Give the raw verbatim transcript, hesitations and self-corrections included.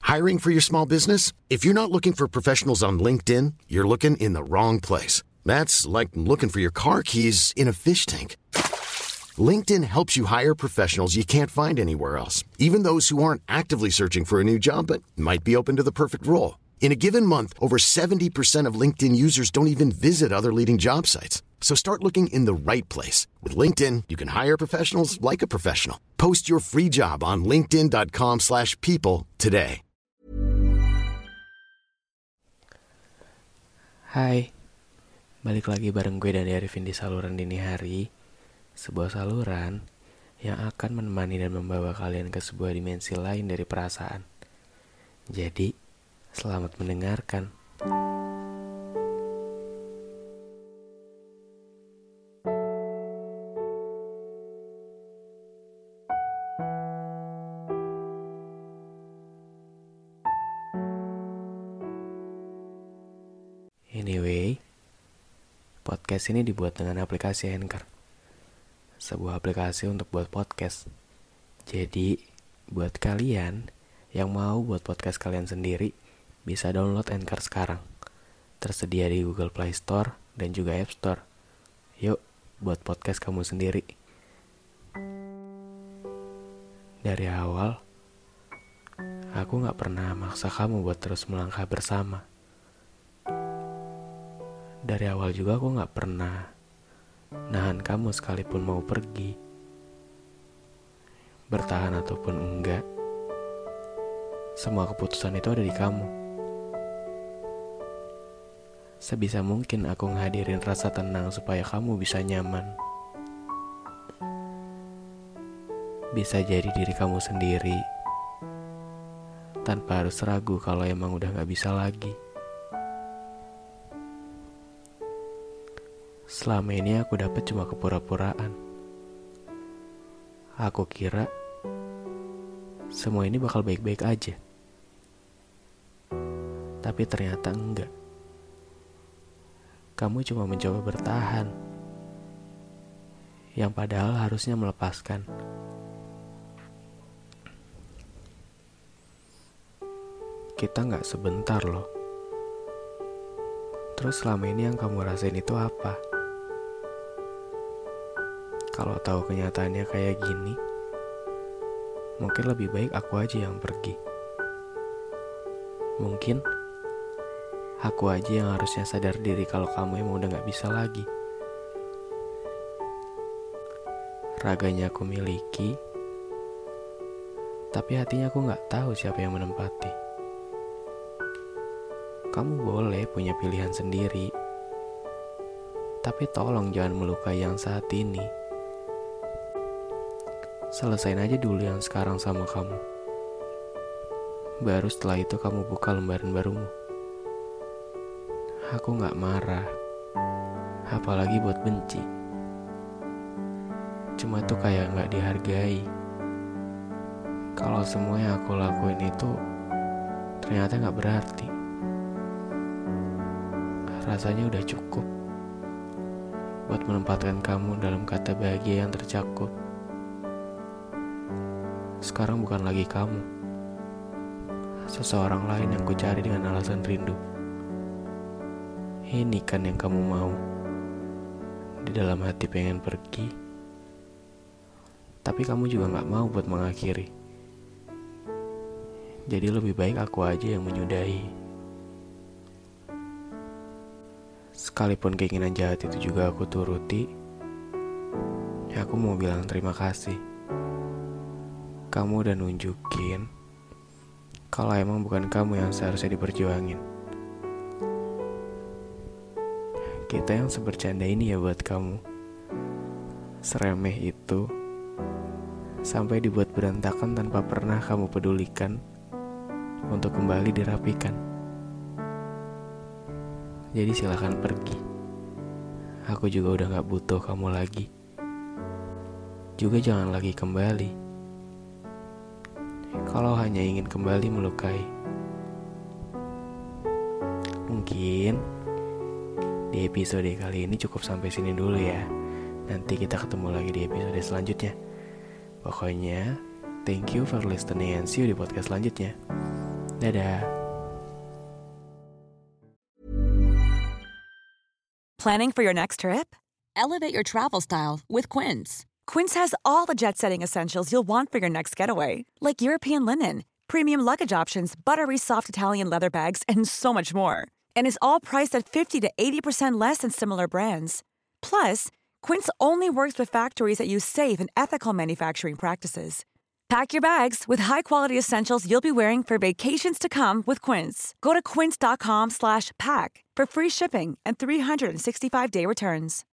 Hiring for your small business? If you're not looking for professionals on LinkedIn, you're looking in the wrong place. That's like looking for your car keys in a fish tank. LinkedIn helps you hire professionals you can't find anywhere else, even those who aren't actively searching for a new job but might be open to the perfect role. In a given month, over seventy percent of LinkedIn users don't even visit other leading job sites. So start looking in the right place. With LinkedIn, you can hire professionals like a professional. Post your free job on linkedin.com slash people today. Hai, balik lagi bareng gue Dani Arifin di saluran dini hari. Sebuah saluran yang akan menemani dan membawa kalian ke sebuah dimensi lain dari perasaan. Jadi, selamat mendengarkan. Anyway, podcast ini dibuat dengan aplikasi Anchor. Sebuah aplikasi untuk buat podcast. Jadi, buat kalian yang mau buat podcast kalian sendiri, bisa download Anchor sekarang. Tersedia di Google Play Store dan juga App Store. Yuk, buat podcast kamu sendiri. Dari awal, aku gak pernah maksa kamu buat terus melangkah bersama. Dari awal juga aku gak pernah nahan kamu sekalipun mau pergi. Bertahan ataupun enggak, semua keputusan itu ada di kamu. Sebisa mungkin aku ngehadirin rasa tenang supaya kamu bisa nyaman. Bisa jadi diri kamu sendiri, tanpa harus ragu kalau emang udah gak bisa lagi. Selama ini aku dapat cuma kepura-puraan. Aku kira semua ini bakal baik-baik aja. Tapi ternyata enggak. Kamu cuma mencoba bertahan, yang padahal harusnya melepaskan. Kita gak sebentar loh. Terus selama ini yang kamu rasain itu apa? Kalau tahu kenyataannya kayak gini, mungkin lebih baik aku aja yang pergi. Mungkin aku aja yang harusnya sadar diri kalau kamu emang udah gak bisa lagi. Raganya aku miliki, tapi hatinya aku gak tahu siapa yang menempati. Kamu boleh punya pilihan sendiri, tapi tolong jangan melukai yang saat ini. Selesain aja dulu yang sekarang sama kamu. Baru setelah itu kamu buka lembaran barumu. Aku gak marah, apalagi buat benci. Cuma tuh kayak gak dihargai. Kalau semua yang aku lakuin itu ternyata gak berarti. Rasanya udah cukup buat menempatkan kamu dalam kata bahagia yang tercakup. Sekarang bukan lagi kamu, seseorang lain yang ku cari dengan alasan rindu. Ini kan yang kamu mau. Di dalam hati pengen pergi, tapi kamu juga gak mau buat mengakhiri. Jadi lebih baik aku aja yang menyudahi. Sekalipun keinginan jahat itu juga aku turuti, ya aku mau bilang terima kasih. Kamu udah nunjukin kalau emang bukan kamu yang seharusnya diperjuangin. Kita yang sebercanda ini ya buat kamu. Seremeh itu, sampai dibuat berantakan tanpa pernah kamu pedulikan untuk kembali dirapikan. Jadi silakan pergi. Aku juga udah gak butuh kamu lagi. Juga jangan lagi kembali kalau hanya ingin kembali melukai. Mungkin di episode kali ini cukup sampai sini dulu ya. Nanti kita ketemu lagi di episode selanjutnya. Pokoknya, thank you for listening and see you di podcast selanjutnya. Dadah. Planning for your next trip? Elevate your travel style with Quince. Quince has all the jet-setting essentials you'll want for your next getaway, like European linen, premium luggage options, buttery soft Italian leather bags, and so much more. And is all priced at fifty to eighty percent less than similar brands. Plus, Quince only works with factories that use safe and ethical manufacturing practices. Pack your bags with high-quality essentials you'll be wearing for vacations to come with Quince. Go to quince.com slash pack for free shipping and three sixty-five day returns.